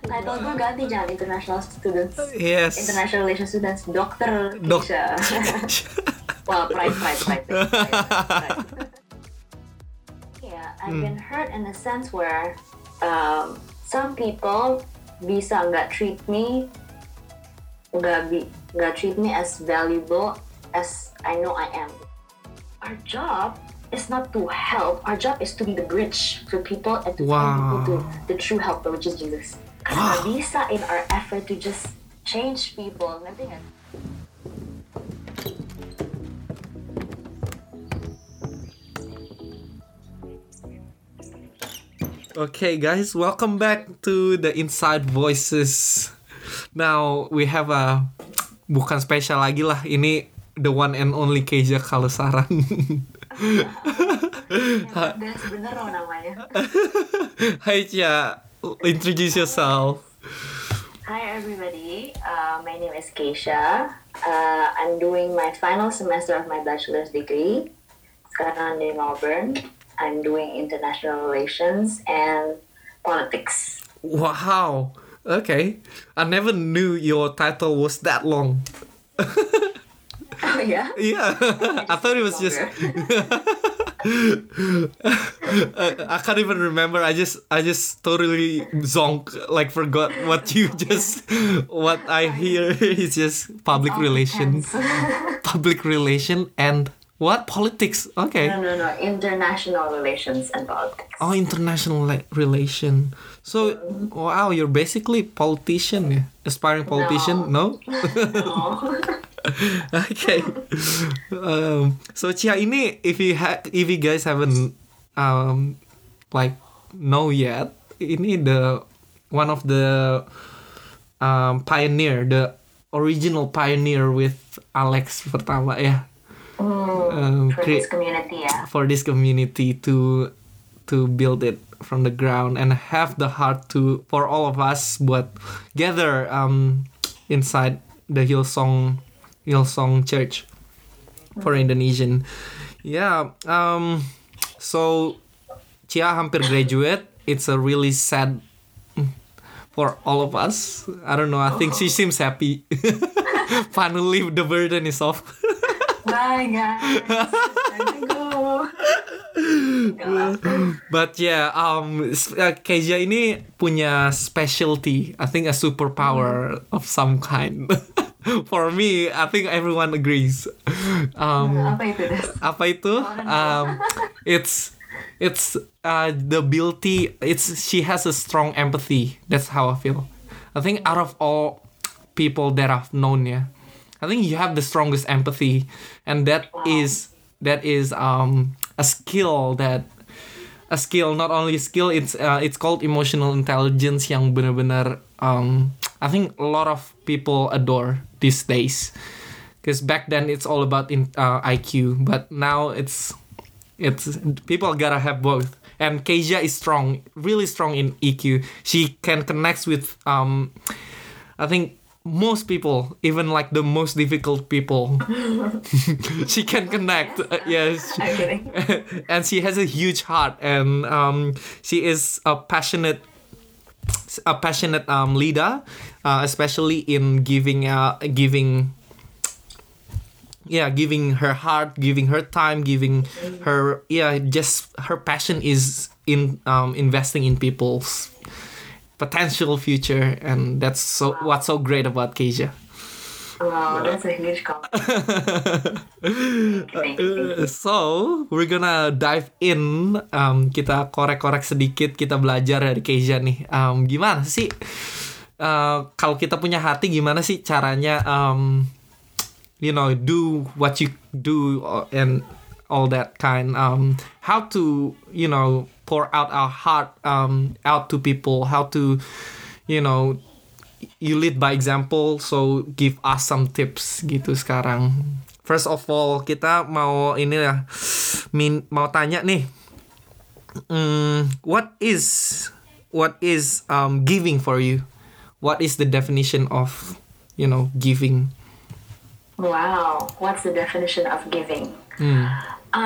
Title gue ganti, jangan international students. Yes. International relations students, Dokter Keisha. Well, pride. Yeah, I've been hurt in the sense where some people bisa nggak treat me as valuable as I know I am. Our job is not to help. Our job is to be the bridge for people and to find people to the true helper, which is Jesus. Karena bisa in our effort to just change people, ngerti nggak? Okay, guys, welcome back to the Inside Voices. Now we have bukan spesial lagi lah, ini the one and only Keisha Kalesaran. Bener loh namanya. Hai Cia, introduce yourself. Hi everybody, my name is Keisha. I'm doing my final semester of my bachelor's degree. Sekarang di Melbourne. I'm doing international relations and politics. Wow, okay. I never knew your title was that long. Oh yeah? Yeah, I thought it was just. I can't even remember. I just totally zonk, like forgot what what I hear is just public relation and what politics. Okay. No. International relations and politics. Oh, international relation. So, wow, you're basically politician, yeah? Aspiring politician? No. No. Okay. So Cia, ini if you guys haven't know yet, ini the one of the pioneer, the original pioneer with Alex pertama ya. For this community, yeah. For this community to build it from the ground and have the heart for all of us buat gather inside the Hillsong Church for Indonesian. Yeah. So Cia hampir graduate. It's a really sad for all of us. I don't know. I think she seems happy. Finally, the burden is off. Bye guys. Time to go. But yeah, Keisha ini punya specialty. I think a superpower of some kind. For me, I think everyone agrees. Apa itu? It's the ability. She has a strong empathy. That's how I feel. I think out of all people that I've known, yeah, I think you have the strongest empathy, and that is a skill. Not only a skill, it's called emotional intelligence yang benar-benar I think a lot of people adore these days. Because back then it's all about IQ, but now it's people gotta have both. And Keisha is really strong in EQ. She can connect with I think most people, even like the most difficult people. She can connect. Yes. And she has a huge heart, and she is a passionate leader, especially in giving her heart, giving her time, giving her just her passion is in investing in people's potential future, and that's what's so great about Keisha. Wow, that's a huge compliment. Thank you. So we're gonna dive in. Kita korek-korek sedikit, kita belajar dari Keisha nih. Gimana sih kalau kita punya hati, gimana sih caranya do what you do and all that kind. How to pour out our heart out to people. How to you lead by example, so give us some tips gitu sekarang. First of all, kita mau mau tanya nih, what is giving for you? What is the definition of giving? Wow, what's the definition of giving?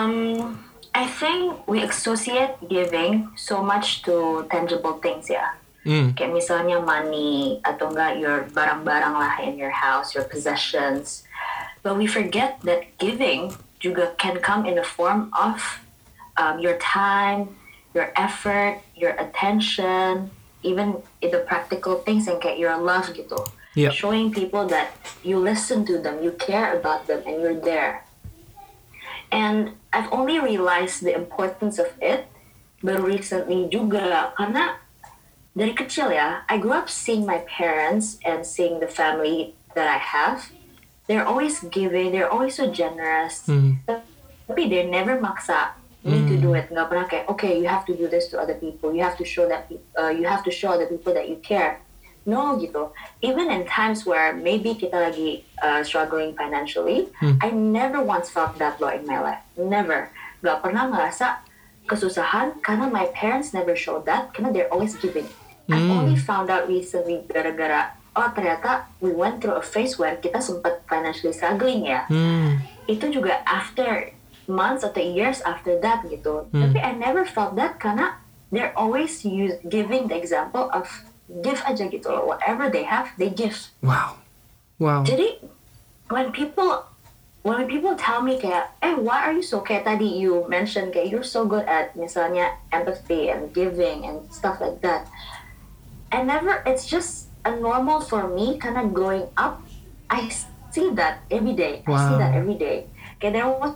I think we associate giving so much to tangible things, yeah. Kayak misalnya money atau enggak your barang-barang lah in your house, your possessions. But we forget that giving juga can come in the form of your time, your effort, your attention, even in the practical things and kayak your love gitu. Yeah. Showing people that you listen to them, you care about them, and you're there. And I've only realized the importance of it baru recently juga, karena dari kecil ya, I grew up seeing my parents and seeing the family that I have. They're always giving, they're always so generous. Tapi they never maksa me to do it. Nggak pernah kayak, okay, you have to do this to other people. You have to show that you have to show other people that you care. No gitu. Even in times where maybe kita lagi struggling financially, I never once felt that low in my life. Never. Gak pernah ngerasa kesusahan karena my parents never showed that karena they're always giving. I've only found out recently gara-gara ternyata we went through a phase where kita sempat financially struggling ya. Itu juga after months atau years after that gitu. Tapi I never felt that karena they're always giving the example of give aja gitu loh. Whatever they have, they give. Wow. Jadi when people tell me kayak, why are you so kayak tadi you mentioned kayak you're so good at misalnya empathy and giving and stuff like that. It's just a normal for me karena growing up, I see that every day. Wow. I see that every day. Kayak there was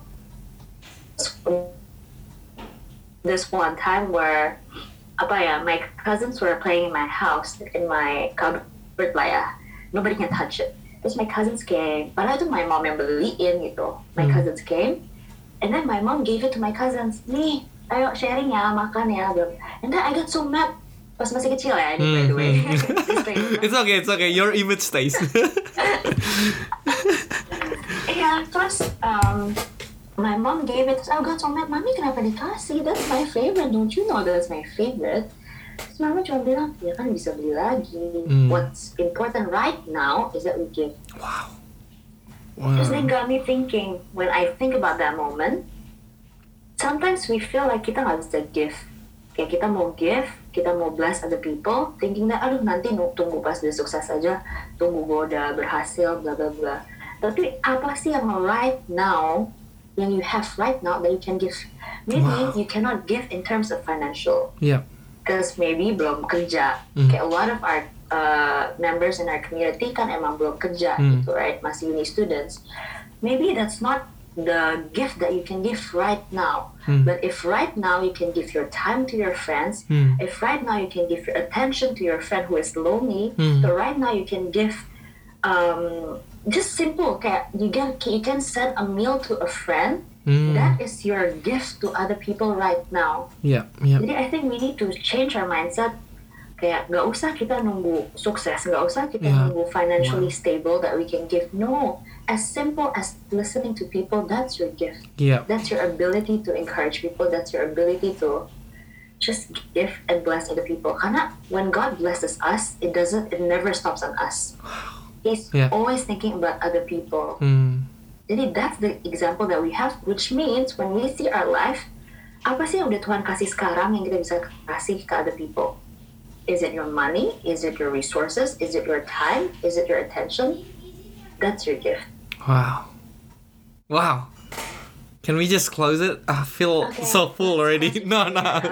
this one time where my cousins were playing in my house, in my cupboard lah ya. Nobody can touch it. Terus my cousins came. Padahal itu my mom yang beliin gitu. My cousins came. And then my mom gave it to my cousins. Nih, ayo sharing ya, makan ya. And then I got so mad. Pas masih kecil ya, ini by the way. It's okay. Your image stays. Yeah, terus my mom gave it. I got so mad. Mami kenapa dikasih? That's my favorite. Don't you know that's my favorite? Terus mama cuma bilang, ya kan bisa beli lagi. What's important right now is that we give. Wow. Terus that got me thinking. When I think about that moment, sometimes we feel like kita nggak bisa give. Kayak kita mau give, kita mau bless other people, thinking that aduh nanti tunggu pas dia sukses aja, tunggu gue udah berhasil, bla bla bla. Tapi apa sih yang right now, yang you have right now that you can give? Maybe you cannot give in terms of financial. Yeah. Because maybe belum kerja. Kayak a lot of our members in our community kan emang belum kerja gitu, right? Masih uni students. Maybe that's not the gift that you can give right now. But if right now you can give your time to your friends, if right now you can give your attention to your friend who is lonely, so right now you can give just simple kayak you can send a meal to a friend. That is your gift to other people right now. Yeah. Jadi I think we need to change our mindset. Kayak gak usah kita nunggu sukses, gak usah kita nunggu financially stable that we can give. No, as simple as listening to people, that's your gift. Yeah. That's your ability to encourage people. That's your ability to just give and bless other people. Karena when God blesses us, it never stops on us. He's always thinking about other people. Jadi that's the example that we have, which means when we see our life, apa sih yang udah Tuhan kasih sekarang yang kita bisa kasih ke other people? Is it your money? Is it your resources? Is it your time? Is it your attention? That's your gift. Wow. Can we just close it? I feel so full already. No.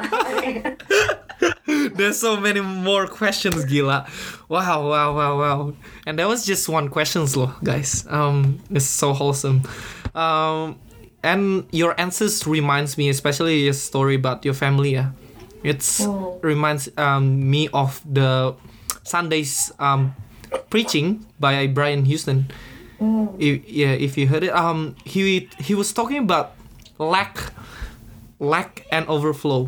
There's so many more questions, gila. Wow. And that was just one question loh, guys. It's so wholesome. And your answers reminds me, especially your story about your family. It's reminds me of the Sunday's preaching by Brian Houston. If you heard it, he was talking about lack and overflow.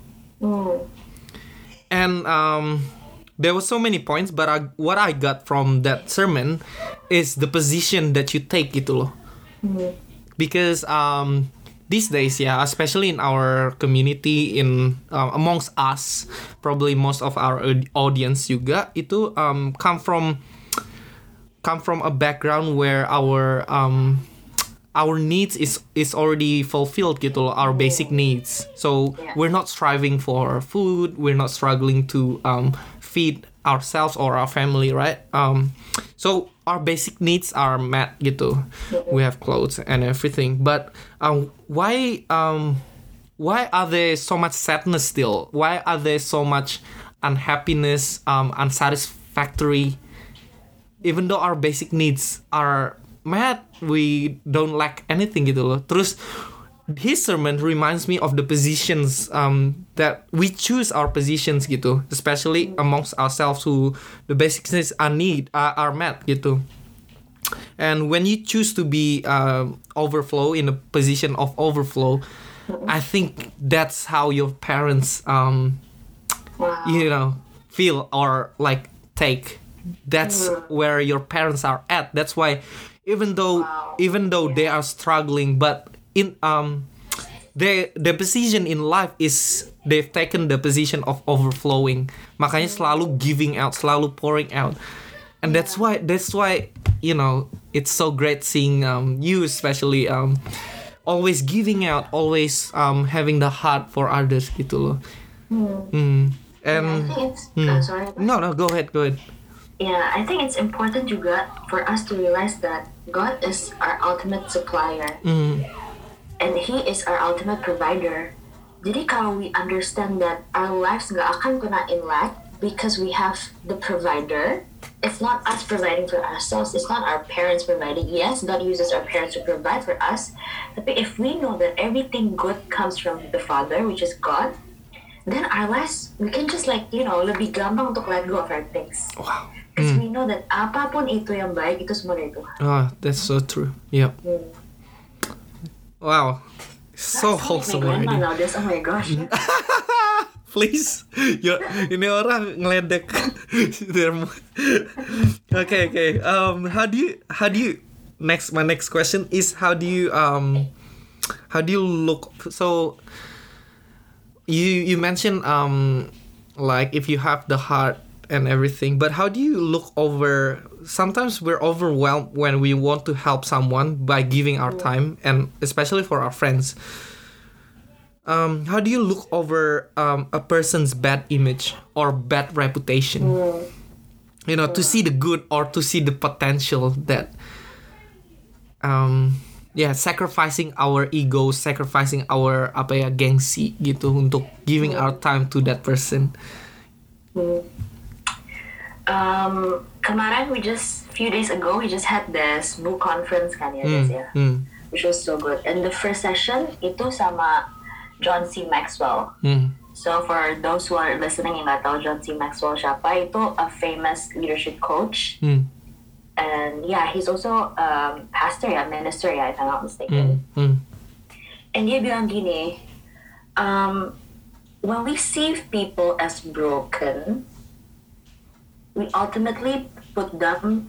And there were so many points, but what I got from that sermon is the position that you take gitu loh. Because these days, especially in our community, in amongst us, probably most of our audience juga itu come from a background where our needs is already fulfilled gitu loh, our basic needs. So we're not striving for food, we're not struggling to feed ourselves or our family, right? So our basic needs are met gitu. We have clothes and everything. But why are there so much sadness still? Why are there so much unhappiness, unsatisfactory? Even though our basic needs are met, we don't lack anything gitu loh. Terus his sermon reminds me of the positions that we choose our positions gitu, especially amongst ourselves who the basic needs are met gitu. And when you choose to be overflow, in a position of overflow, I think that's how your parents feel or like take. That's where your parents are at. That's why even though they are struggling, but in the position in life is they've taken the position of overflowing. Makanya selalu giving out, selalu pouring out. And that's why it's so great seeing you especially always giving out, always having the heart for others gitu loh. And I think it's sorry. No, go ahead. Yeah, I think it's important juga for us to realize that God is our ultimate supplier. And He is our ultimate provider. Jadi kalau we understand that our lives nggak akan kena in lack because we have the provider, it's not us providing for ourselves, it's not our parents providing. Yes, God uses our parents to provide for us. Tapi if we know that everything good comes from the Father, which is God, then our lives, we can just lebih gampang untuk let go of our things. Wow. Because we know that apapun itu yang baik, itu semua dari Tuhan. Oh, that's so true. Yep. Wow. So wholesome already. Oh my gosh. Please. Ini orang ngeledek. Okay. How do you my next question is how do you look, so you mentioned like if you have the heart and everything, but how do you look over, sometimes we're overwhelmed when we want to help someone by giving our time, and especially for our friends. How do you look over a person's bad image or bad reputation? To see the good or to see the potential that sacrificing our ego, sacrificing our gengsi gitu untuk giving our time to that person. Kemarin few days ago we just had this book conference kan ya guys ya, which was so good. And the first session itu sama John C. Maxwell. So for those who are listening yang nggak tahu John C. Maxwell siapa, itu a famous leadership coach. And he's also pastor minister if I'm not mistaken. And dia bilang gini, when we see people as broken, we ultimately put them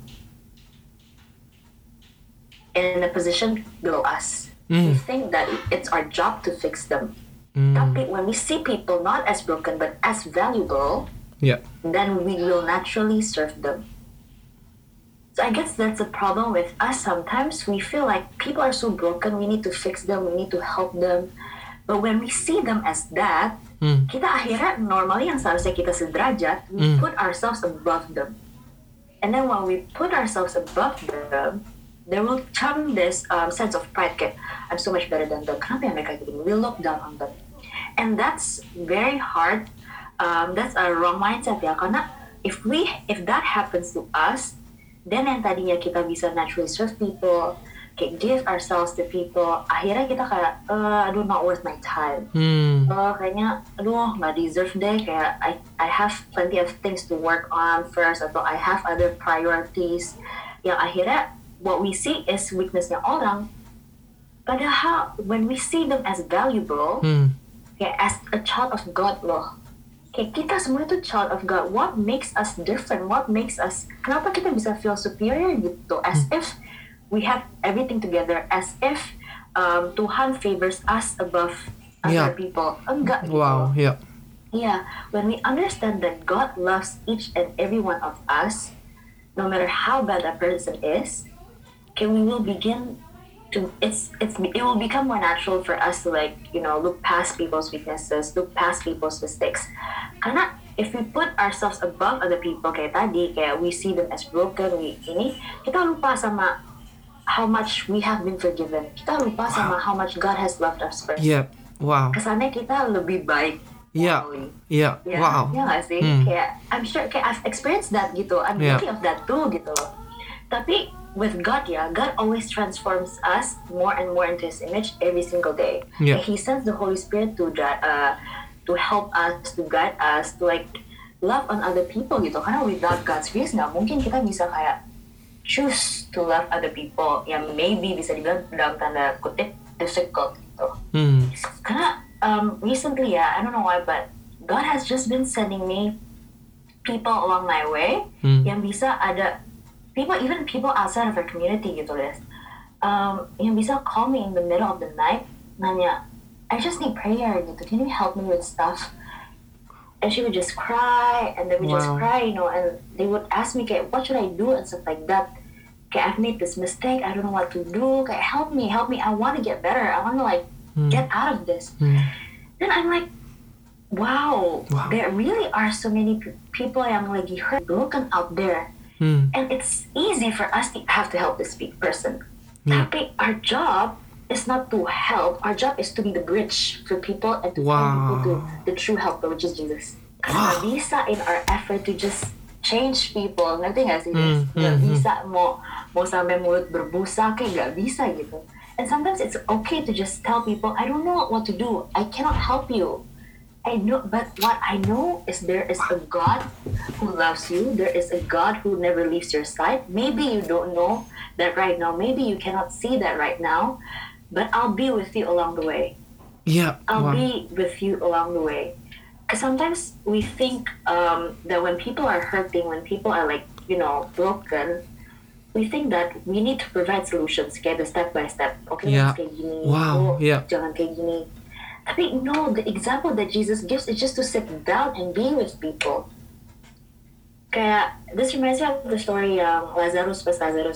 in a position below us. We think that it's our job to fix them. Tapi when we see people not as broken but as valuable, then we will naturally serve them. So I guess that's a problem with us sometimes. We feel like people are so broken, we need to fix them, we need to help them. But when we see them as that, kita akhirnya normally yang seharusnya kita sederajat, we put ourselves above them. And then when we put ourselves above them, there will come this sense of pride, kayak, I'm so much better than them. Kenapa mereka gini? We look down on them. And that's very hard. That's a wrong mindset ya. Karena if that happens to us, then yang tadinya kita bisa naturally serve people, kayak give ourselves to people, akhirnya kita kayak not worth my time. Kayaknya nggak deserve deh, kayak I have plenty of things to work on first, atau I have other priorities, yang akhirnya what we see is weaknessnya orang. Padahal when we see them as valuable, kayak as a child of God loh, kayak kita semua itu child of God. What makes us different? What makes us, kenapa kita bisa feel superior gitu, as if we have everything together, as if Tuhan favors us above other people. Enggak gitu. Wow, When we understand that God loves each and every one of us, no matter how bad that person is, we will begin it will become more natural for us to like look past people's weaknesses, look past people's mistakes. Karena if we put ourselves above other people kayak tadi, kayak we see them as broken, kita lupa sama how much we have been forgiven. Kita lupa sama how much God has loved us first. Yeah. Wow. Kesannya kita lebih baik. Yeah. Yeah. Yeah. Wow. Ya nggak sih? Kayak I'm sure kayak I've experienced that gitu. I'm guilty of that too gitu loh. Tapi with God, God always transforms us more and more into His image every single day. Yeah. He sends the Holy Spirit to help us, to guide us, to like love on other people gitu. Karena without God's grace nggak mungkin kita bisa kayak choose to love other people yang maybe bisa dibilang dalam tanda kutip difficult gitu. Karena recently I don't know why, but God has just been sending me people along my way yang bisa ada people outside of our community gitu guys, yang bisa call me in the middle of the night nanya, I just need prayer gitu, can you help me with stuff? And she would just cry and they would just cry, and they would ask me kayak what should I do and stuff like that. Kayak I've made this mistake, I don't know what to do, kayak help me, I want to get better, I want to like get out of this. Then I'm like, wow, there really are so many people yang lagi hurt, broken out there. And it's easy for us to have to help this person. Tapi our job is not to help. Our job is to be the bridge for people and to bring people to the true helper, which is Jesus. Karena bisa in our effort to just change people, ngerti nggak sih? Nggak bisa mau sampai mulut berbusa kayak nggak bisa gitu. And sometimes it's okay to just tell people, I don't know what to do. I cannot help you. I know, but what I know is there is a God who loves you. There is a God who never leaves your side. Maybe you don't know that right now. Maybe you cannot see that right now. But I'll be with you along the way. Yeah. I'll be with you along the way. Because sometimes we think that when people are hurting, when people are like, broken, we think that we need to provide solutions, kayak the step by step. Okay, let's kayak gini. Jangan kayak gini. Tapi no, the example that Jesus gives is just to sit down and be with people. Kayak, this reminds me of the story yang Lazarus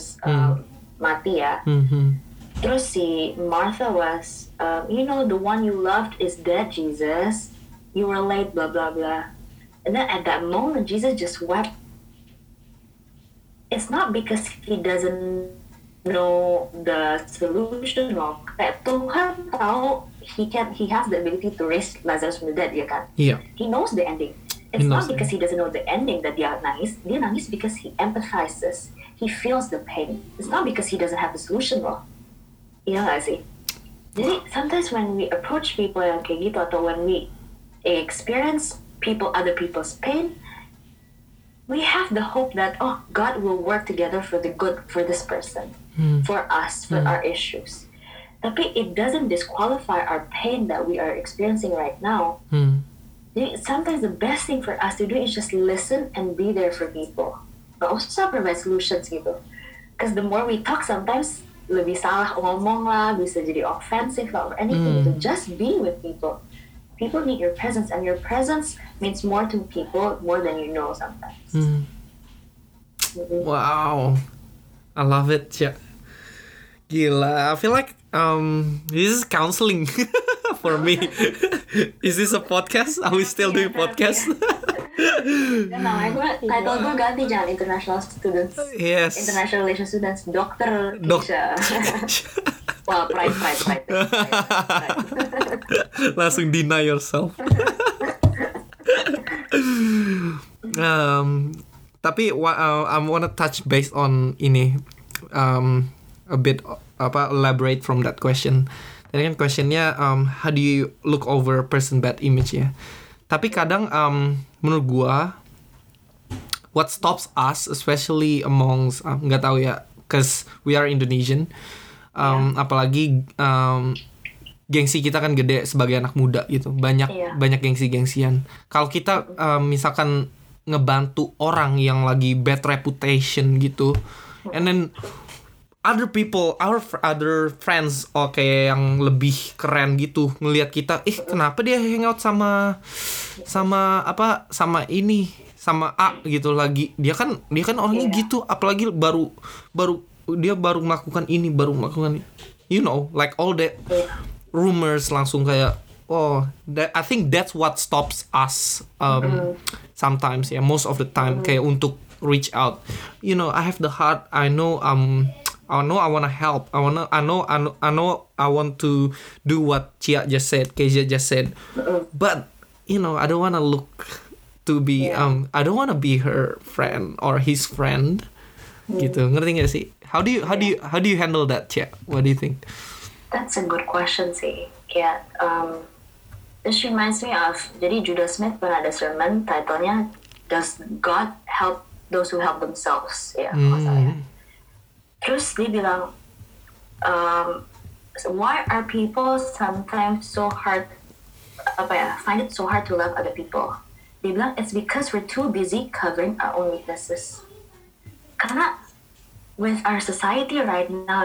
mati ya. Terus si Martha was, the one you loved is dead, Jesus. You were late, blah, blah, blah. And then at that moment, Jesus just wept. It's not because he doesn't know the solution loh. Kayak Tuhan tahu he has the ability to raise Lazarus from the dead, ya kan? Yeah. He knows the ending. It's not because he doesn't know the ending that dia nangis. Dia nangis because he empathizes. He feels the pain. It's not because he doesn't have the solution loh. Iya nggak sih? Jadi sometimes when we approach people yang kayak gitu, atau when we experience other people's pain, we have the hope that God will work together for the good for this person, for us, for our issues. Tapi it doesn't disqualify our pain that we are experiencing right now. Sometimes the best thing for us to do is just listen and be there for people. Gak usah provide solutions gitu. Because the more we talk, sometimes lebih salah ngomong lah, bisa jadi offensive lah, or anything gitu. Just be with people. People need your presence, and your presence means more to people more than you know sometimes. Wow, I love it. Yeah. Gila, I feel like this is counseling for me. Is this a podcast? Are we still doing podcast? Namanya title gue ganti, jangan international students. Yes. International relations students, Dokter Kisha. Wah, pride. Langsung deny yourself. Tapi I wanna touch based on ini a bit elaborate from that question. Tadi kan questionnya how do you look over person bad image ya. Tapi kadang menurut gua what stops us especially amongst nggak tahu ya, cause we are Indonesian, apalagi gengsi kita kan gede sebagai anak muda gitu, banyak gengsi-gengsian. Kalau kita misalkan ngebantu orang yang lagi bad reputation gitu, and then other people, our other friends, yang lebih keren gitu ngelihat kita, kenapa dia hangout sama A gitu lagi, dia kan orangnya gitu, apalagi baru melakukan ini, like all the rumors langsung kayak I think that's what stops us sometimes, most of the time, kayak untuk reach out. I have the heart. I know I want to help. I want to do what Kezia just said. But I don't want to look to be I don't want to be her friend or his friend. Gitu. Ngerti gak sih? How do you handle that, Cia? What do you think? That's a good question sih. Kayak this reminds me of, jadi Judah Smith pernah ada sermon titlenya Does God Help Those Who Help Themselves? Terus dia bilang, why are people sometimes so hard, find it so hard to love other people? Dia bilang, it's because we're too busy covering our own weaknesses. Karena with our society right now,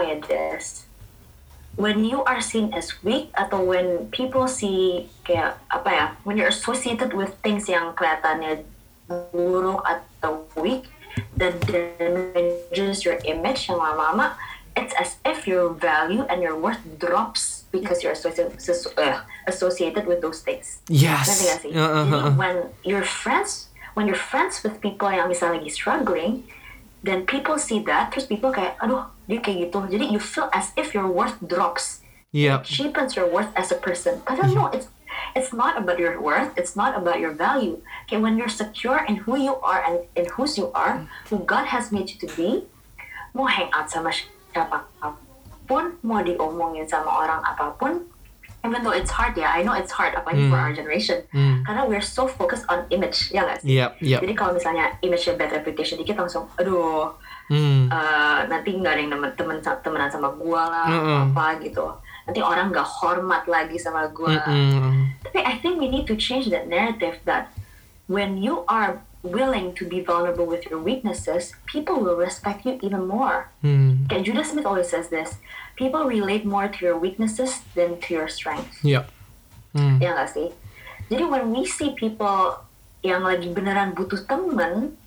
when you are seen as weak, atau when people see kayak when you're associated with things yang kelihatannya buruk atau weak, that damages your image yang lama-lama, it's as if your value and your worth drops because you're associated with those things. Yes. Nanti gak sih? Jadi when you're friends with people yang misalnya lagi struggling, then people see that, terus people kayak, aduh, dia kayak gitu. Jadi you feel as if your worth drops. Yeah. It cheapens your worth as a person. But no, it's not about your worth. It's not about your value. Okay, when you're secure in who you are and in whose you are, who God has made you to be, mau hang out sama siapapun, mau diomongin sama orang apapun, even though it's hard, I know it's hard, apalagi for our generation, karena we're so focused on image, ya nggak sih? Yep. Jadi kalau misalnya image-nya bad reputation dikit, langsung, aduh, nanti nggak ada yang temenan sama gue lah, apa gitu. Nanti orang nggak hormat lagi sama gue. Tapi I think we need to change that narrative that when you are willing to be vulnerable with your weaknesses, people will respect you even more. Kayak Judah Smith always says this, people relate more to your weaknesses than to your strengths. Yeah. Ya nggak sih? Jadi when we see people yang lagi beneran butuh temen,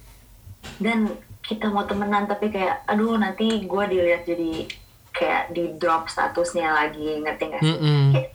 dan kita mau temenan tapi kayak, aduh nanti gue dilihat jadi kayak di drop statusnya lagi, ngerti nggak sih?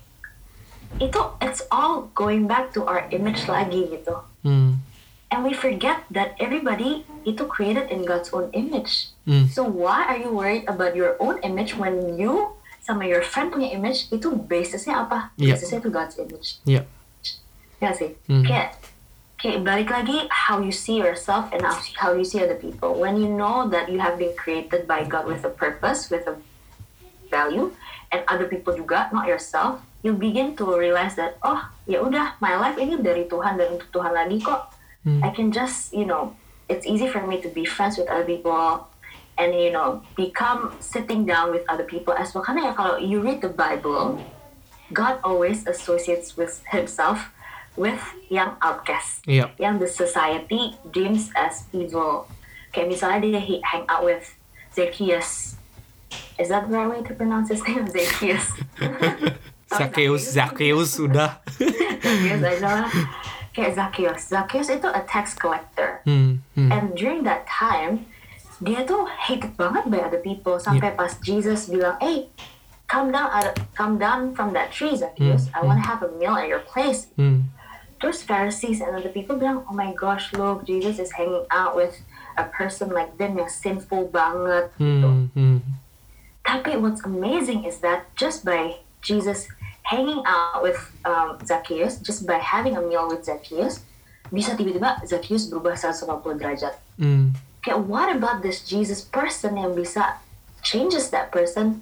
Itu it's all going back to our image lagi gitu. And we forget that everybody itu created in God's own image. So why are you worried about your own image when you sama your friend punya image itu basisnya apa? Basisnya itu God's image. Ya sih. Kayak balik lagi how you see yourself and how you see other people. When you know that you have been created by God with a purpose, with a value, and other people juga, not yourself, you begin to realize that, oh ya udah, my life ini dari Tuhan dan untuk Tuhan lagi kok. I can just, it's easy for me to be friends with other people and, become sitting down with other people as well. Karena ya kalau you read the Bible, God always associates with himself with yang outcast, yang the society deems as evil. Kayak misalnya dia hang out with Zacchaeus. Is that the right way to pronounce his name? Zacchaeus. Zacchaeus sudah. Zacchaeus, I know. Kayak Zacchaeus itu a tax collector. And during that time, dia tuh hated banget by other people. Sampai pas Jesus bilang, hey, come down from that tree, Zacchaeus. I want to have a meal at your place. Terus Pharisees and other people bilang, oh my gosh, look, Jesus is hanging out with a person like them yang sinful banget. Gitu. Tapi what's amazing is that just by Jesus hanging out with Zacchaeus, just by having a meal with Zacchaeus, bisa tiba-tiba Zacchaeus berubah 180 derajat. Kayak what about this Jesus person yang bisa changes that person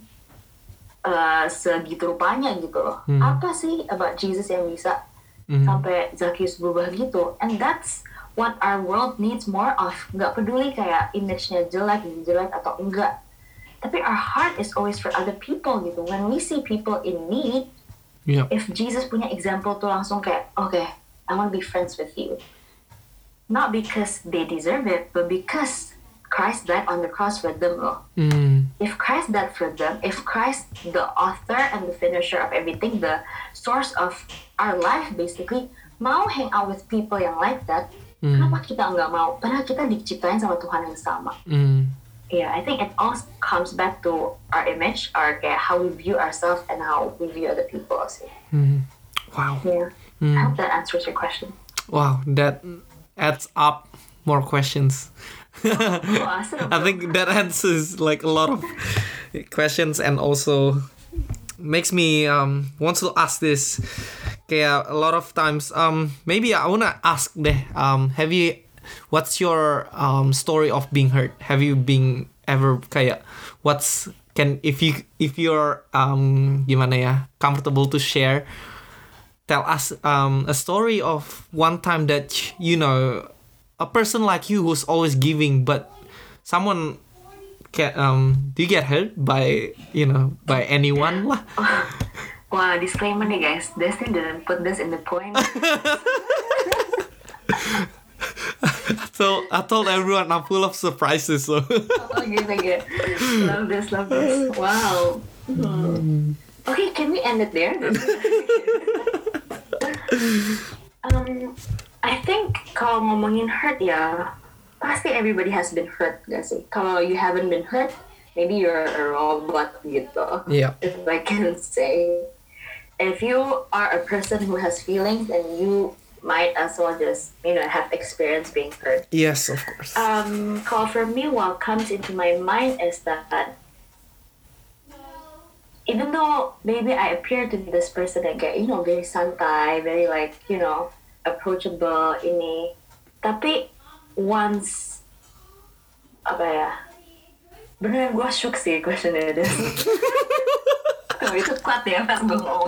segitu rupanya gitu loh. Apa sih about Jesus yang bisa sampai Zacchaeus berubah gitu? And that's what our world needs more of. Nggak peduli kayak image-nya jelek atau enggak. Tapi our heart is always for other people gitu. When we see people in need, if Jesus punya example tuh langsung kayak, okay, I want to be friends with you. Not because they deserve it, but because Christ died on the cross for them loh. If Christ died for them, if Christ, the author and the finisher of everything, the source of our life basically, mau hang out with people yang like that, kenapa kita nggak mau? Padahal kita diciptain sama Tuhan yang sama. yeah, I think it all comes back to our image, our kayak how we view ourselves and how we view other people also. Wow. Yeah. I hope that answers your question. Wow, that adds up more questions. Oh, awesome. I think that answers like a lot of questions and also makes me wants to ask this. Kayak a lot of times maybe I wanna ask deh, what's your story of being hurt? Have you been ever kayak if you're gimana ya, comfortable to share, tell us a story of one time that you know a person like you who's always giving, but someone do you get hurt by by anyone lah? Wow, disclaimer nih guys, Destin didn't put this in the point. So I told everyone I'm full of surprises. So. Oh, good. Love this. Wow. Okay, can we end it there? I think kalau ngomongin hurt ya, pasti everybody has been hurt gak sih? Kalau you haven't been hurt, maybe you're a robot gitu. Yeah. If I can say. If you are a person who has feelings, then you might as well just, have experience being hurt. Yes, of course. Kalau for me, what comes into my mind is that even though maybe I appear to be this person that get, very santai, very like, approachable ini, tapi once apa ya, beneran gue shook sih questionnya deh. Oh, itu kuat ya pas gue ngomong.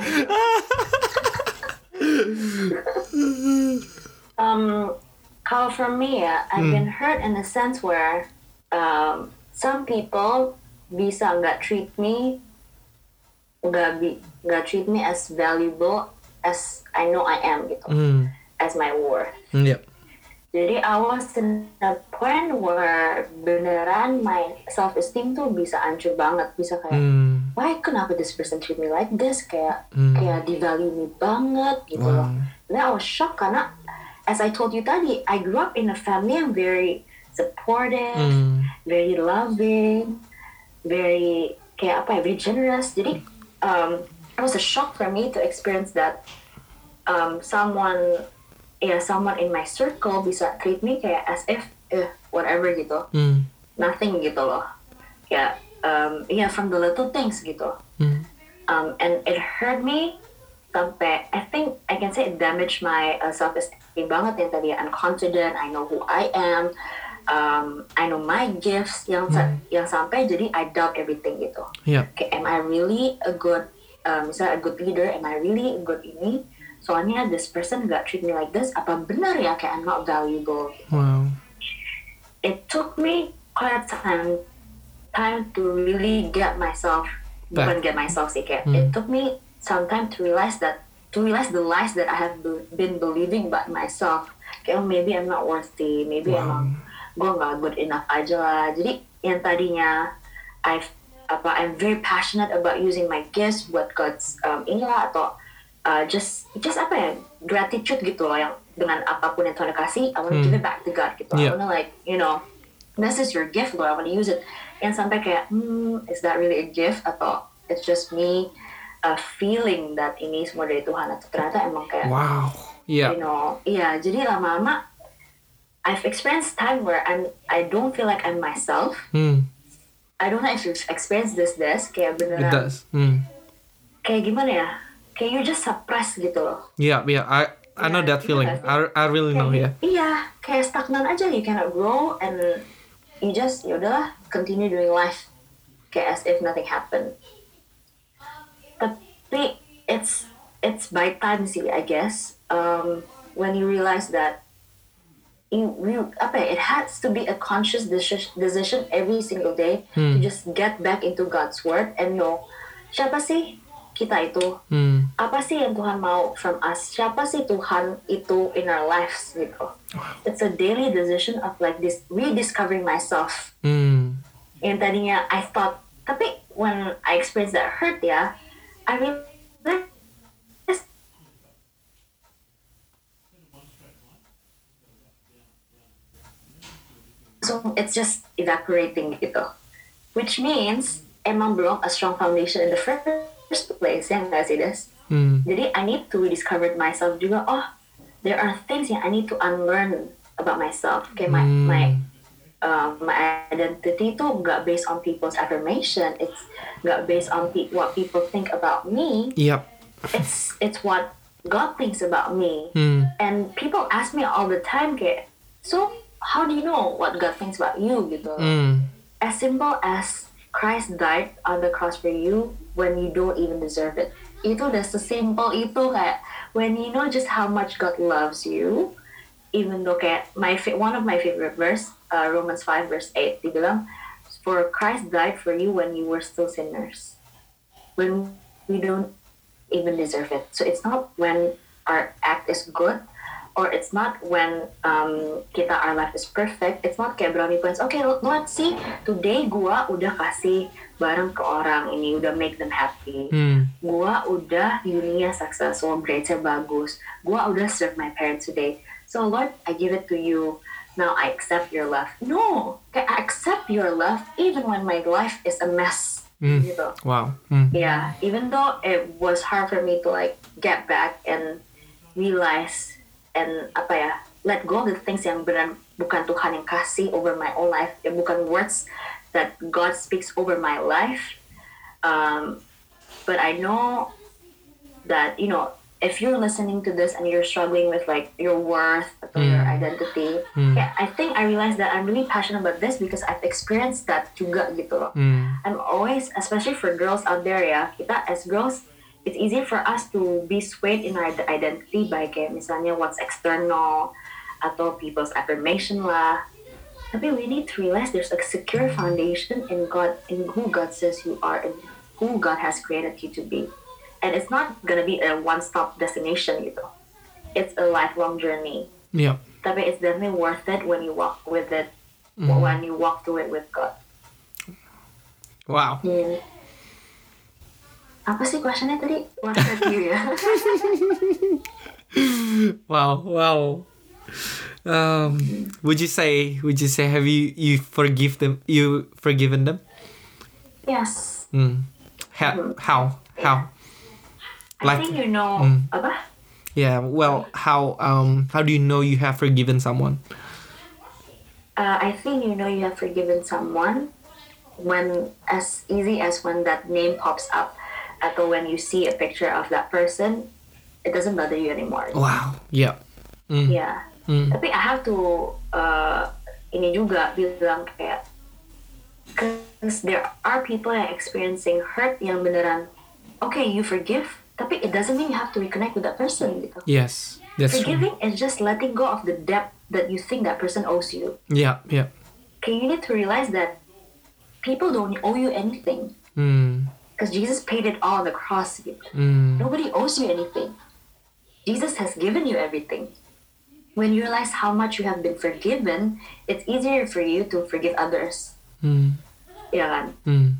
Kalau for me ya, I've been hurt in a sense where some people bisa nggak treat me as valuable as I know I am gitu, as my worth. Yep. Jadi I was in a point where beneran my self-esteem tuh bisa hancur banget, bisa kayak why kenapa this person treat me like this, kayak devalue me banget gitu loh. Then I was shocked karena as I told you tadi, I grew up in a family yang very supportive, very loving, very very generous. Jadi it was a shock for me to experience that someone in my circle bisa treat me kayak as if whatever gitu, nothing gitu loh, from the little things gitu, and it hurt me sampai I think I can say it damaged my self-esteem banget yang tadi I'm confident, I know who I am, I know my gifts yang sampai jadi I doubt everything gitu. Okay, am I really a good misalnya a good leader, am I really a good ini? Soalnya this person gak treat me like this, apa benar ya kayak I'm not valuable? Wow. It took me quite time to really get myself, bukan get myself sih, kayak it took me some time to realize the lies that I have been believing about myself. Kayak maybe I'm not worthy, maybe emang gue gak good enough aja lah. Jadi yang tadinya I'm very passionate about using my gifts buat God's inilah atau just gratitude gitu loh, yang dengan apapun yang Tuhan kasih, I want to give it back to God gitu. I want to like, this is your gift Lord, I want to use it. Yang sampai kayak, is that really a gift atau it's just me feeling that ini semua dari Tuhan, atau ternyata emang kayak, wow, jadi lama-lama I've experienced time where I don't feel like I'm myself. I don't know if you've experienced this kayak beneran. It does. Kayak gimana ya? Kayak you just suppress gitu loh. Yeah, I know that feeling. I really know, Iya, kayak stagnan aja, you cannot grow and you just yaudahlah continue doing life kayak as if nothing happened. Tapi it's by time sih, I guess. When you realize that it has to be a conscious decision every single day to just get back into God's word and know siapa sih kita itu, apa sih yang Tuhan mau from us, siapa sih Tuhan itu in our lives gitu. It's a daily decision of like this rediscovering myself. Yang tadinya I thought, tapi when I experienced that hurt ya, I realized langsung it's just evaporating gitu. Which means emang belum a strong foundation in the first place, ya nggak sih, Des? Jadi I need to rediscover myself juga. Oh, there are things yang I need to unlearn about myself. Kayak my identity itu nggak based on people's affirmation. It's nggak based on what people think about me. Yep. It's what God thinks about me. And people ask me all the time kayak, so how do you know what God thinks about you gitu? As simple as Christ died on the cross for you when you don't even deserve it. Itu udah sesimpel itu kayak when you know just how much God loves you, even though kayak one of my favorite verse, Romans 5 verse 8, dibilang, for Christ died for you when you were still sinners, when we don't even deserve it. So it's not when our act is good, or it's not when our life is perfect. It's not kayak brownie points. Okay, let's see. Today gua udah kasih barang ke orang ini, udah make them happy. Gua udah uninya successful, grades-nya bagus. Gua udah serve my parents today. So Lord, I give it to you. Now I accept your love. No, kayak I accept your love even when my life is a mess. Gitu. Wow. Yeah, even though it was hard for me to like get back and realize and let go of the things yang benar bukan Tuhan yang kasih over my own life, ya bukan words that God speaks over my life. But I know that if you're listening to this and you're struggling with like your worth or your identity, I think I realized that I'm really passionate about this because I've experienced that juga gitu loh. I'm always, especially for girls out there ya, kita as girls, it's easy for us to be swayed in our identity by kayak misalnya what's external atau people's affirmation lah. Tapi we need to realize there's a secure foundation in God, in who God says you are and who God has created you to be. And it's not gonna be a one-stop destination gitu. It's a lifelong journey. Yeah. Tapi it's definitely worth it when you walk with it, when you walk through it with God. Wow. Apa sih questionnya tadi? What about you ya? Wow. Would you say have you forgiven them? Yes. How? I think apa? Yeah. Well, how do you know you have forgiven someone? I think you have forgiven someone when as easy as when that name pops up. Atau when you see a picture of that person, it doesn't bother you anymore. Wow, yeah. Yeah. Tapi I have to ini juga bilang kayak, because there are people yang experiencing hurt yang beneran, okay, you forgive, tapi it doesn't mean you have to reconnect with that person gitu. Yes, that's Forgiving true. is just letting go of the debt that you think that person owes you. Yeah. Okay, you need to realize that people don't owe you anything. Because Jesus paid it all on the cross. Nobody owes you anything. Jesus has given you everything. When you realize how much you have been forgiven, it's easier for you to forgive others. Ya kan?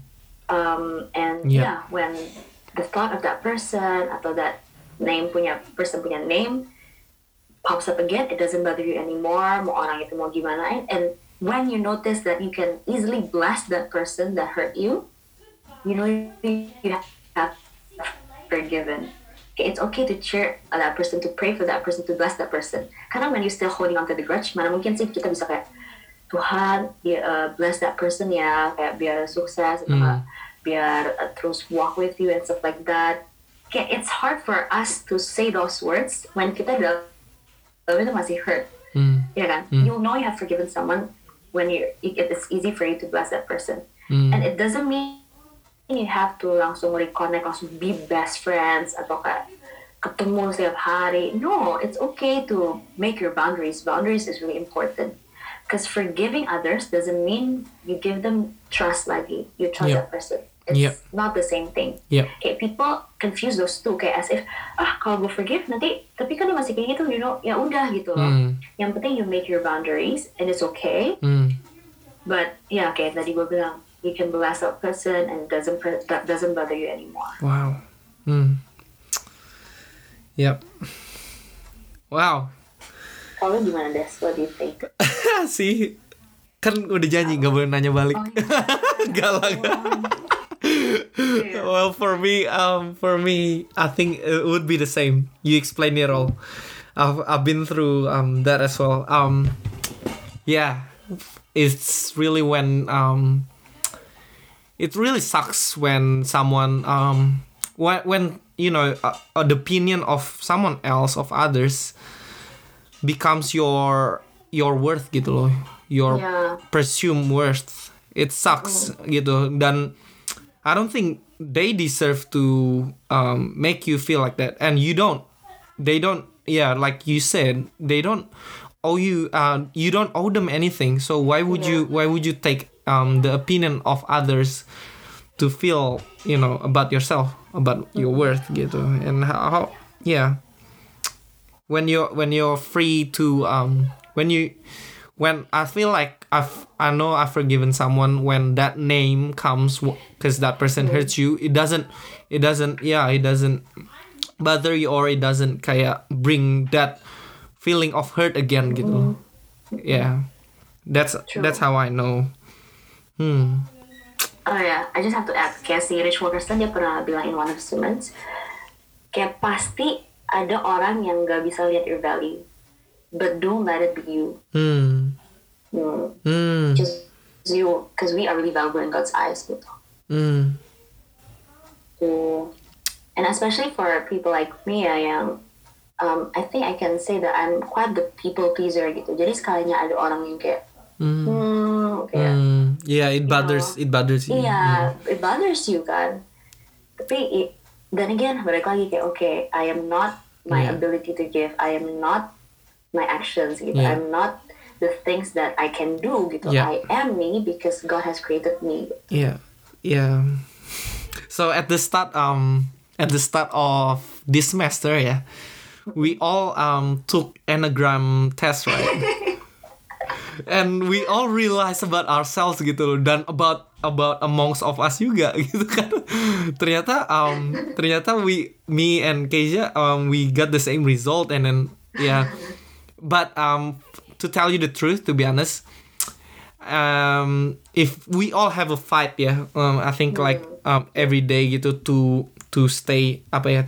And when the thought of that person atau that person punya name pops up again, it doesn't bother you anymore. Mau orang itu mau gimana. And when you notice that you can easily bless that person that hurt you, you have forgiven. Okay, it's okay to cheer that person, to pray for that person, to bless that person. Karena when you still holding on to the grudge, mana mungkin sih kita bisa kayak, Tuhan, bless that person ya, kayak biar sukses, biar terus walk with you and stuff like that. Okay, it's hard for us to say those words when kita dalam itu masih hurt. Ya kan? You know you have forgiven someone when it's easy for you to bless that person. And it doesn't mean you have to langsung reconnect, langsung be best friends atau kayak ketemu setiap hari. No, it's okay to make your boundaries. Boundaries is really important. Because forgiving others doesn't mean you give them trust lagi. You trust that person. It's not the same thing. Okay, people confuse those two kayak as if kalau gue forgive nanti tapi kan dia masih kayak gitu, ya udah gitu loh. Yang penting you make your boundaries and it's okay. But kayak tadi gue bilang, you can bless that person and that doesn't bother you anymore. Wow. Yep. Wow. Kalau gimana, Des? What do you think? See, Kan udah janji nggak boleh nanya balik. Oh, yeah. Galak. Yeah. Well, for me, I think it would be the same. You explain it all. I've been through that as well. Yeah, it's really when it really sucks when someone when you know the opinion of someone else of others becomes your worth gitu loh, your Yeah. presumed worth. It sucks gitu, dan I don't think they deserve to make you feel like that, and they don't, yeah, like you said, they don't owe you, you don't owe them anything, so why would you take the opinion of others to feel, you know, about yourself, about your worth gitu. And how yeah, when you're free to when I feel like I know I've forgiven someone, when that name comes because that person hurts you, it doesn't bother you, or it doesn't kayak bring that feeling of hurt again gitu. Yeah, that's how I know. Oh yeah, I just have to add, kayak si Rich Wilkerson dia pernah bilang in one of his sermons, kayak pasti ada orang yang gak bisa lihat your value, but don't let it be you. Just you, because we are really valuable in God's eyes gitu. So, and especially for people like me, yang I think I can say that I'm quite the people pleaser gitu. Jadi sekalinya ada orang yang kayak kayak yeah, it bothers you. Iya, it bothers you kan. Tapi then again, balik lagi kayak okay, I am not my ability to give. I am not my actions gitu. Yeah. I'm not the things that I can do gitu. Yeah. I am me because God has created me. Yeah. So at the start of this semester, yeah, we all took Enneagram test, right? And we all realize about ourselves gitu loh, dan about amongst of us juga gitu kan. Ternyata me and Keisha we got the same result, and then yeah. But to tell you the truth, to be honest, if we all have a fight, yeah, I think like every day gitu to stay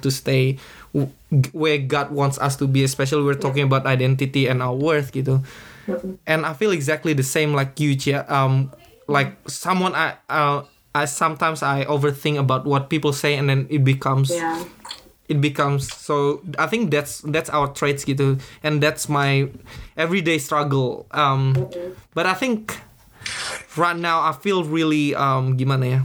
where God wants us to be, especially we're talking about identity and our worth gitu. And I feel exactly the same like you, Chia. Like someone I sometimes I overthink about what people say, and then it becomes so. I think that's our traits gitu, and that's my everyday struggle. But I think right now I feel really gimana ya,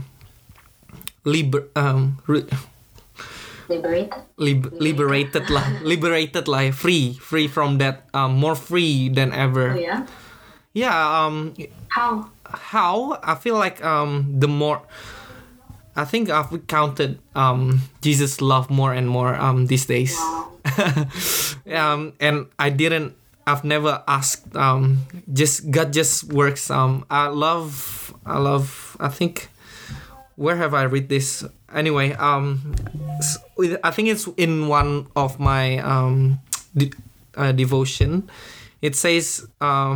liberated lah, free from that, more free than ever. Oh, yeah. How I feel like the more I think I've counted Jesus' love more and more these days. Wow. And I've never asked, just God just works. I love I think, where have I read this? Anyway, I think it's in one of my devotion. It says,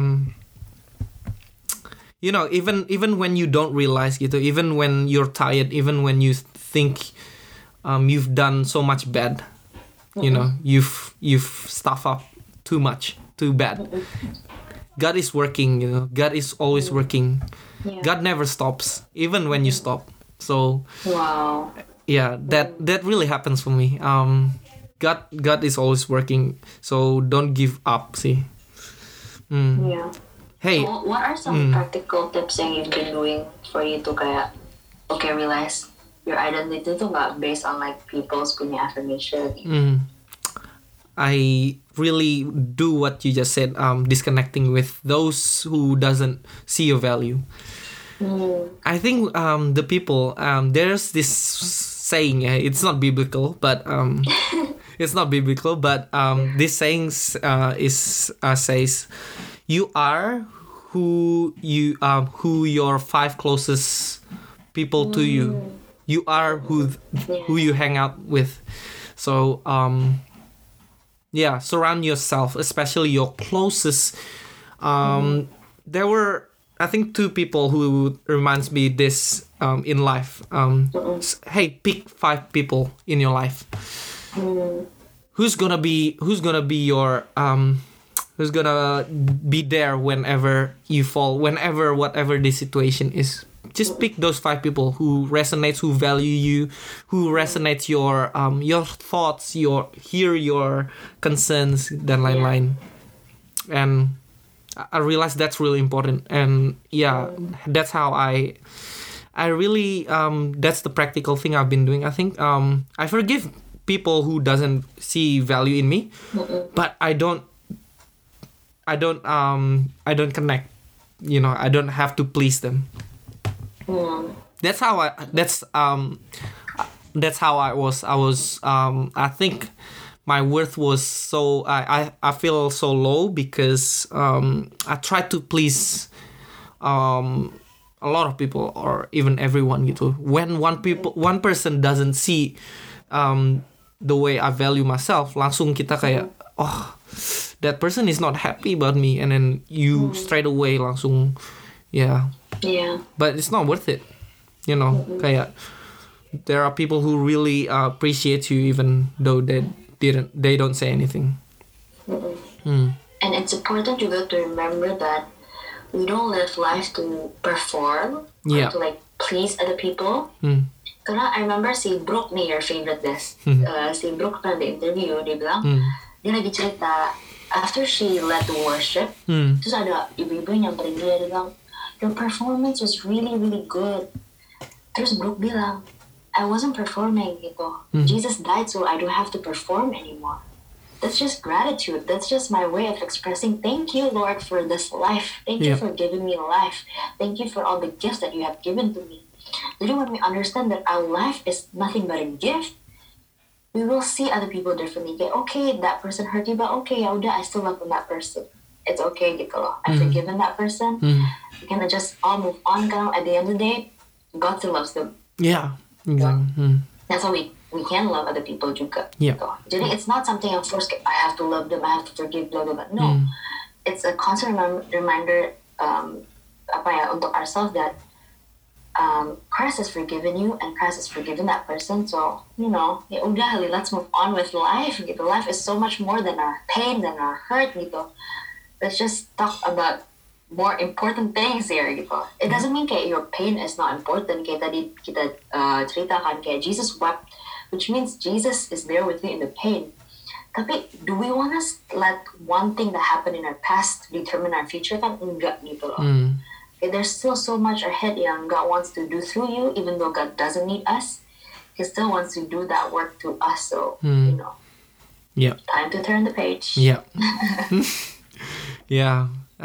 you know, even when you don't realize gitu, even when you're tired, even when you think you've done so much bad, you know, you've stuffed up too much, too bad. God is working, you know. God is always working. Yeah. God never stops, even when you stop. So Wow. yeah, that really happens for me. God is always working, so don't give up. See. Yeah. Hey. So, what are some practical tips yang you've been doing for you to kayak realize your identity tuh nggak based on like people's punya affirmation? I really do what you just said. Disconnecting with those who doesn't see your value. I think the people, there's this saying, it's not biblical, but this saying says, you are who your 5 closest people to you. You are who you hang out with. So surround yourself, especially your closest. There were I think two people who reminds me this in life. Hey, pick 5 people in your life. Who's gonna be your who's gonna be there whenever you fall, whatever the situation is. Just pick those 5 people who resonates, who value you, who resonates your thoughts, your concerns, dan lain-lain. And I realize that's really important. And yeah, that's how I really that's the practical thing I've been doing. I think I forgive people who doesn't see value in me, but I don't connect. I don't have to please them. That's how I was. I think my worth was so I feel so low because I tried to please a lot of people or even everyone gitu. When one person doesn't see the way I value myself, langsung kita kayak that person is not happy about me, and then you straight away langsung but it's not worth it, kayak there are people who really appreciate you even though they don't say anything. And it's important juga to remember that we don't live life to perform or to like please other people. Karena I remember si Brooke nih, your favorite guest, si Brooke pernah di interview, dia bilang dia lagi cerita after she led the worship, terus ada ibu-ibu yang nyamperin dia bilang, your performance was really really good. Terus Brooke bilang, I wasn't performing gitu. Jesus died so I don't have to perform anymore. That's just gratitude. That's just my way of expressing thank you, Lord, for this life. Thank you for giving me life. Thank you for all the gifts that you have given to me. Jadi when we understand that our life is nothing but a gift, we will see other people differently. Kayak, okay, that person hurt you, but okay, ya udah, I still love that person. It's okay gitu loh. I've forgiven that person. We can just all move on. Karena at the end of the day, God still loves them. Yeah, exactly. That's how we can love other people juga. Yeah. Gitu. Jadi it's not something yang forced, I have to love them, I have to forgive, blah, blah, blah. No. It's a constant reminder untuk ourselves that Christ has forgiven you and Christ has forgiven that person. So, ya udah, let's move on with life. Gitu. Life is so much more than our pain, than our hurt. Gitu. Let's just talk about more important things here. Gitu. It doesn't mean kayak your pain is not important. Kayak tadi kita ceritakan kayak Jesus wept, which means Jesus is there with you in the pain. Tapi do we want to let one thing that happened in our past determine our future? Kan enggak gitu loh. There's still so much ahead yang God wants to do through you, even though God doesn't need us. He still wants to do that work through us. So, time to turn the page. Yeah. Yeah.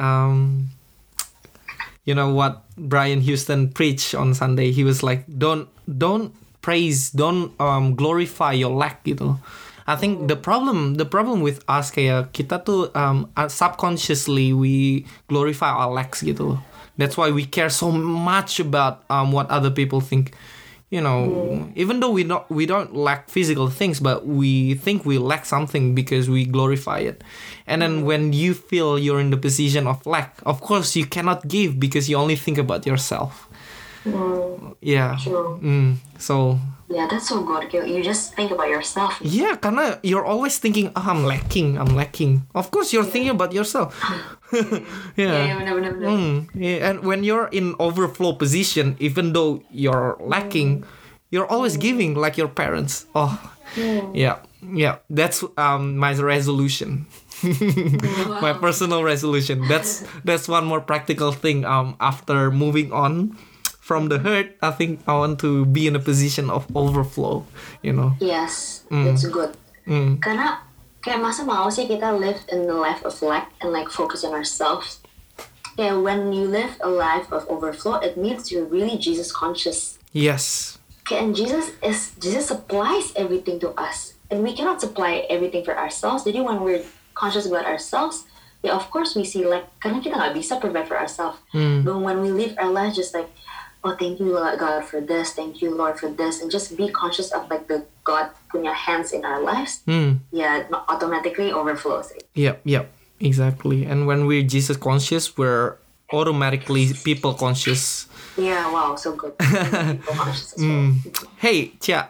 You know what Brian Houston preached on Sunday? He was like, don't praise, don't glorify your lack gitu. I think the problem with us kayak kita tuh subconsciously we glorify our lacks gitu. That's why we care so much about what other people think. Even though we don't lack physical things, but we think we lack something because we glorify it. And then when you feel you're in the position of lack, of course you cannot give because you only think about yourself. Yeah. True. So. Yeah, that's so good. You just think about yourself. Yeah, karena you're always thinking, I'm lacking. Of course, you're thinking about yourself. Yeah, benar. Yeah, and when you're in overflow position, even though you're lacking, you're always giving like your parents. Oh, yeah. That's my resolution. My personal resolution. That's one more practical thing. After moving on from the hurt, I think I want to be in a position of overflow, Yes, that's good. Karena kayak masa mau sih kita live in the life of lack and like focus on ourselves. Yeah, when you live a life of overflow, it means you're really Jesus conscious. Yes. Okay, and Jesus supplies everything to us, and we cannot supply everything for ourselves. Jadi when we're conscious about ourselves, yeah, of course we see like karena kita nggak bisa provide for ourselves. But when we live our lives just like, oh, thank you, God, for this. Thank you, Lord, for this. And just be conscious of like the God punya hands in our lives. Yeah, automatically overflows. Yep, exactly. And when we're Jesus conscious, we're automatically people conscious. Yeah, wow, so good. People conscious as well. Hey, Chia,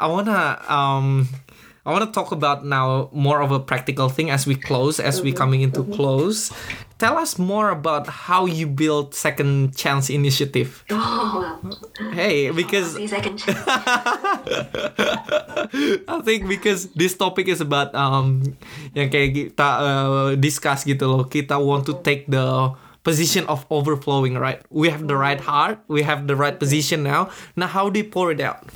I wanna talk about now more of a practical thing as we close, as we coming into close. Tell us more about how you build Second Chance Initiative. Oh, wow. Hey, because See, second chance. I think because this topic is about yang kayak kita discuss gitu loh. Kita want to take the position of overflowing, right? We have the right heart, we have the right position now. Now how do you pour it out?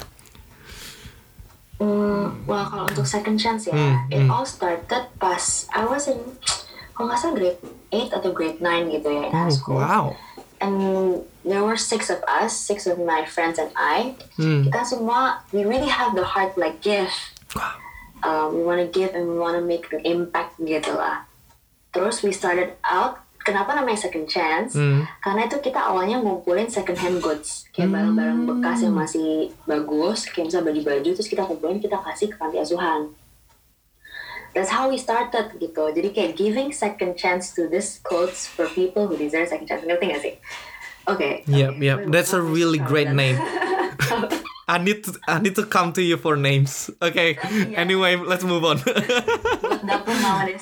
Well, kalau untuk second chance ya, it all started pas I was in, kalau nggak salah grade 8 atau grade 9 gitu ya in high school. Wow. And there were 6 of us, 6 of my friends and I. Kita semua, we really have the heart like give. We want to give and we want to make an impact gitu lah. Terus we started out. Kenapa namanya second chance? Karena itu kita awalnya ngumpulin second hand goods, kayak barang-barang bekas yang masih bagus, kayak misalnya baju-baju, terus kita kumpulin, kita kasih ke panti asuhan. That's how we started gitu. Jadi kayak giving second chance to these clothes for people who deserve second chance. Ngerti gak sih? Okay. Yep. That's a really great name. I need to come to you for names. Okay. Yeah. Anyway, let's move on. Buat dapur nowadays.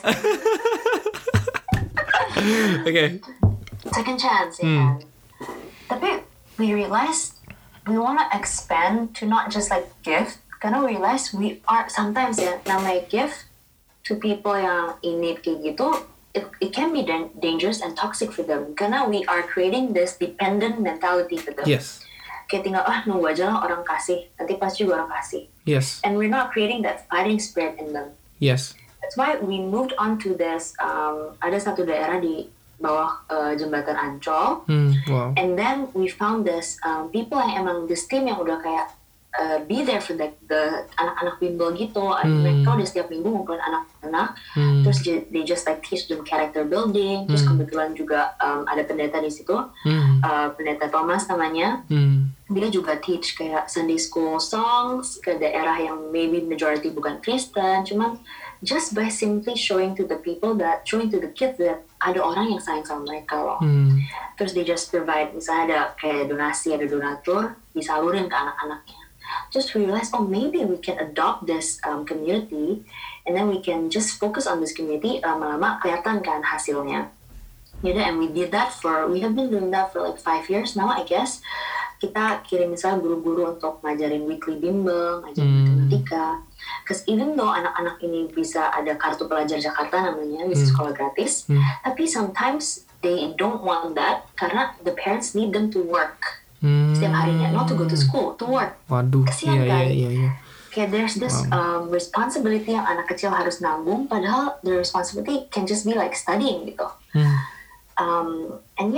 Okay. Second chance, ya. Tapi we realized we want to expand to not just like gift. Karena we realize we are sometimes ya namanya gift to people yang in need kayak gitu. It can be dangerous and toxic for them. Karena we are creating this dependent mentality for them. Yes. Kayak tinggal nunggu aja lah orang kasih. Nanti pasti juga orang kasih. Yes. And we're not creating that fighting spirit in them. Yes. That's why we moved on to this. Ada satu daerah di bawah jembatan Ancol, wow. And then we found this people yang emang this team yang udah kayak be there for the anak-anak bimbel gitu. Mereka udah setiap minggu ngumpulin anak-anak, terus they just like teach them character building. Terus kebetulan juga ada pendeta di situ, pendeta Thomas namanya. Dia juga teach kayak Sunday school songs ke daerah yang maybe majority bukan Kristen, cuman just by simply showing to the kids that ada orang yang sayang sama mereka loh. Terus they just provide, misalnya ada kayak donasi, ada donatur, disalurin ke anak-anaknya. Just realize, maybe we can adopt this community, and then we can just focus on this community. Lama-lama kelihatan kan hasilnya. And we have been doing that for like 5 years now, I guess. Kita kirim misalnya guru-guru untuk ngajarin weekly bimbel, ngajarin matematika. Because even though anak-anak ini bisa ada kartu pelajar Jakarta namanya, bisa sekolah gratis, tapi sometimes they don't want that karena the parents need them to work setiap harinya, not to go to school, to work. Waduh, kesian kan? Iya. Kayak there's this responsibility yang anak kecil harus nanggung, padahal the responsibility can just be like studying gitu. And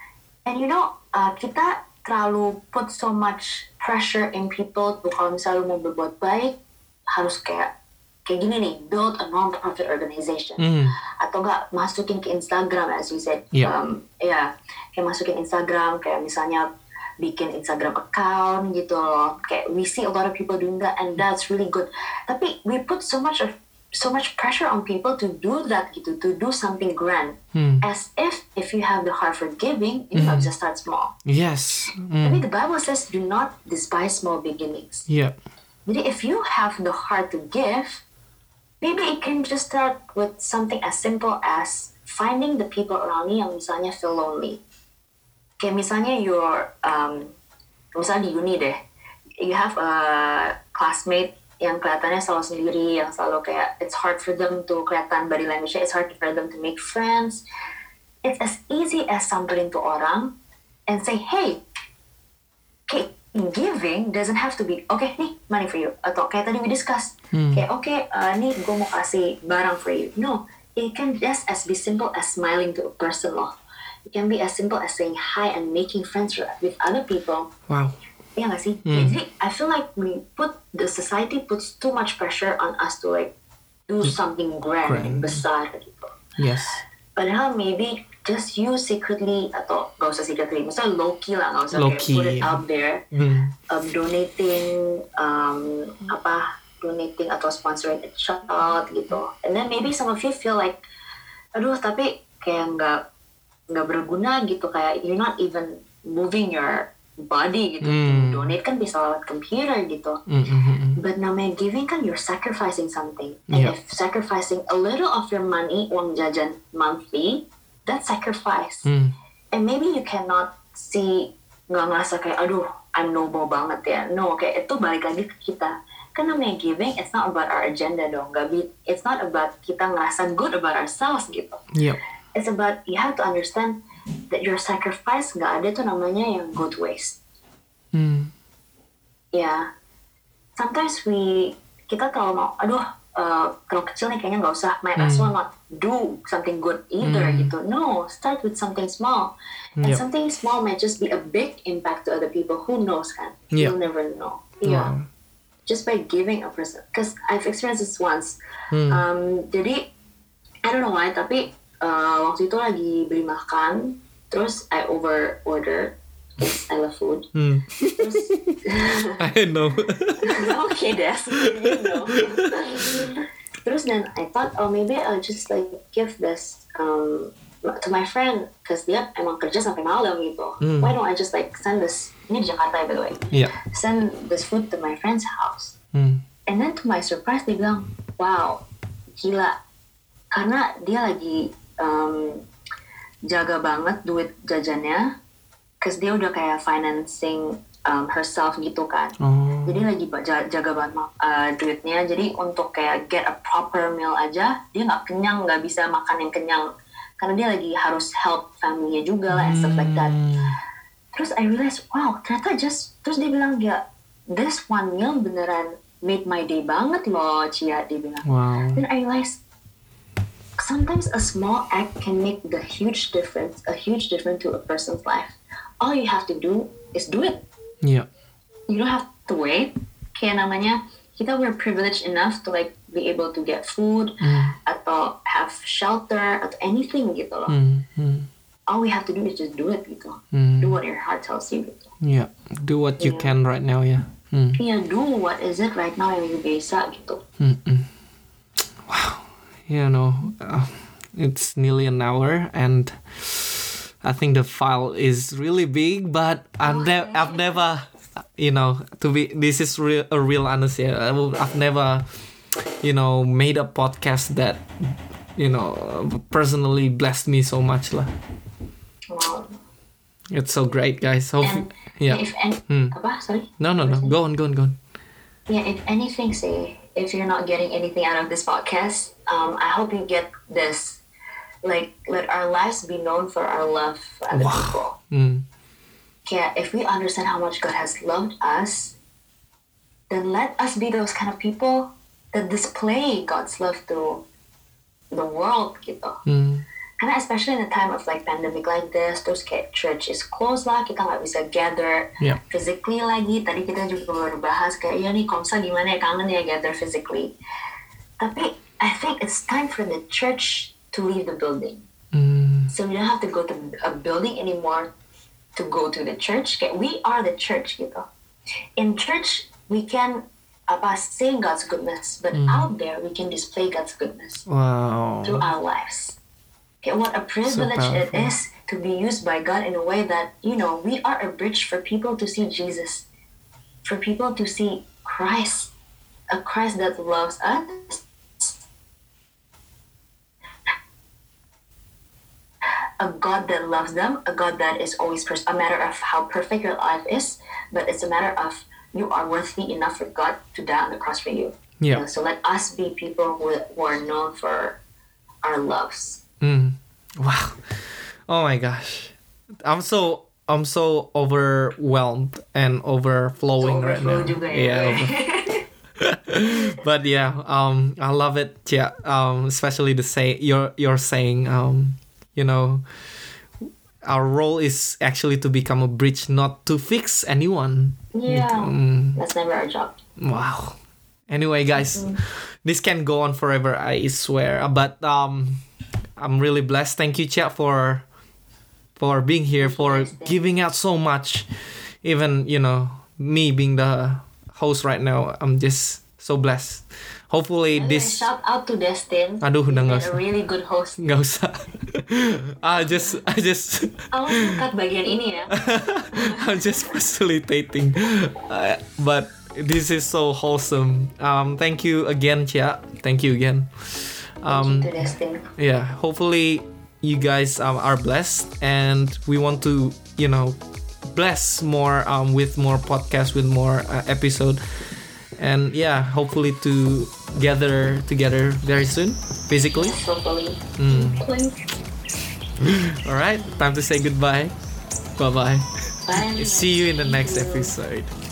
kita terlalu put so much pressure in people tuh kalau misalnya mau berbuat baik harus kayak gini nih, build a non-profit organization, atau enggak masukin ke Instagram as you said, kayak masukin Instagram, kayak misalnya bikin Instagram account gitu loh. Kayak we see a lot of people doing that, and that's really good. Tapi we put so much pressure on people to do that gitu, to do something grand, as if you have the heart for giving, you have to start small. Yes. I mean, the Bible says, do not despise small beginnings. Yeah. Jadi if you have the heart to give, maybe it can just start with something as simple as finding the people around you yang misalnya feel lonely. Kayak misalnya misalnya di uni deh, you have a classmate yang kelihatannya selalu sendiri, yang selalu kayak it's hard for them to kelihatan body language, it's hard for them to make friends. It's as easy as samperin to orang and say, hey, giving doesn't have to be okay nih money for you, atau kayak tadi we discuss kayak nih gue mau kasih barang for you. No, it can just be simple as smiling to a person loh. It can be as simple as saying hi and making friends with other people. Wow. Iya nggak sih? Jadi I feel like the society puts too much pressure on us to like do something grand. Besar gitu. Yes. Padahal maybe just you secretly, atau gak usah secretly, misalnya low-key lah, gak usah kayak put it out there, donating atau sponsoring a child gitu. And then maybe some of you feel like, aduh tapi kayak nggak berguna gitu, kayak you're not even moving your body gitu. To donate kan bisa lewat computer gitu. But namanya giving kan you're sacrificing something. And if sacrificing a little of your money, uang jajan monthly, that's sacrifice. And maybe you cannot see, nggak ngerasa kayak aduh I'm noble banget ya. No, kayak itu balik lagi ke kita. Kan namanya giving, it's not about our agenda dong. It's not about kita ngerasa good about ourselves gitu. It's about, you have to understand that your sacrifice nggak ada tuh namanya yang go to waste. Sometimes kita terlalu mau, aduh terlalu kecil nih kayaknya nggak usah, might as well not do something good either gitu. No, start with something small. And something small might just be a big impact to other people. Who knows kan? You'll never know. Just by giving a person, because I've experienced this once. Jadi I don't know why, tapi waktu itu lagi beli makan, terus I order. I love food. Terus, I know. Okay, Des, you know. Terus then I thought, maybe I'll just like give this to my friend, because dia emang kerja sampai malam gitu. Why don't I just like send this? Ini di Jakarta by the way. Send this food to my friend's house. And then to my surprise dia bilang, wow, gila. Karena dia lagi jaga banget duit jajannya, because dia udah kayak financing herself gitu kan. Jadi lagi jaga banget duitnya. Jadi untuk kayak get a proper meal aja, dia nggak kenyang, nggak bisa makan yang kenyang. Karena dia lagi harus help family-nya juga lah, and stuff like that. Terus I realized, wow, ternyata terus dia bilang, ya, this one meal beneran made my day banget loh, Cia, dia bilang. Then I realized, sometimes a small act can make a huge difference to a person's life. All you have to do is do it. You don't have to wait. Kayak namanya, we're privileged enough to like be able to get food, atau have shelter, atau anything gitu loh. All we have to do is just do it gitu. Do what your heart tells you gitu. Do what you can right now, do what is it right now yang you bisa gitu. Wow. It's nearly an hour, and I think the file is really big, but I've never, this is a real honesty. I've never, made a podcast that, personally blessed me so much lah. Wow. It's so great, guys. Sorry. No. Go on. Yeah, if anything, if you're not getting anything out of this podcast, I hope you get this. Like, let our lives be known for our love for other people. Yeah, if we understand how much God has loved us, then let us be those kind of people that display God's love to the world gitu. Karena especially in the time of like pandemic like this, terus kayak church is closed lah, kita nggak bisa gather physically lagi. Tadi kita juga baru bahas kayak, ya nih Komsa gimana ya, kangen ya gather physically. Tapi I think it's time for the church to leave the building. So we don't have to go to a building anymore to go to the church. Kayak we are the church gitu. In church, we can say God's goodness, but out there we can display God's goodness through our lives. Okay, what a privilege it is to be used by God in a way that, we are a bridge for people to see Jesus, for people to see Christ, a Christ that loves us, a God that loves them, a God that is always a matter of how perfect your life is, but it's a matter of you are worthy enough for God to die on the cross for you. So let us be people who are known for our loves. Wow. Oh my gosh. I'm so overwhelmed and overflowing right now. But I love it. Yeah. Especially you're saying our role is actually to become a bridge, not to fix anyone. That's never our job. Wow. Anyway, guys, this can go on forever, I swear. But I'm really blessed. Thank you, Cia, for being here, for giving out so much. Even, me being the host right now, I'm just so blessed. Hopefully this... Shout out to Destin. Aduh, udah nggak usah. A really good host. Nggak usah. I just Awas cut bagian ini ya. I'm just facilitating, but this is so wholesome. Thank you again, Chia. Thank you again. Thank you to Destin. Yeah, hopefully you guys are blessed, and we want to bless more with more podcasts, with more episode, and yeah, hopefully to gather together very soon physically. Hopefully. All right, time to say goodbye. Bye bye. Bye. See you in the next episode.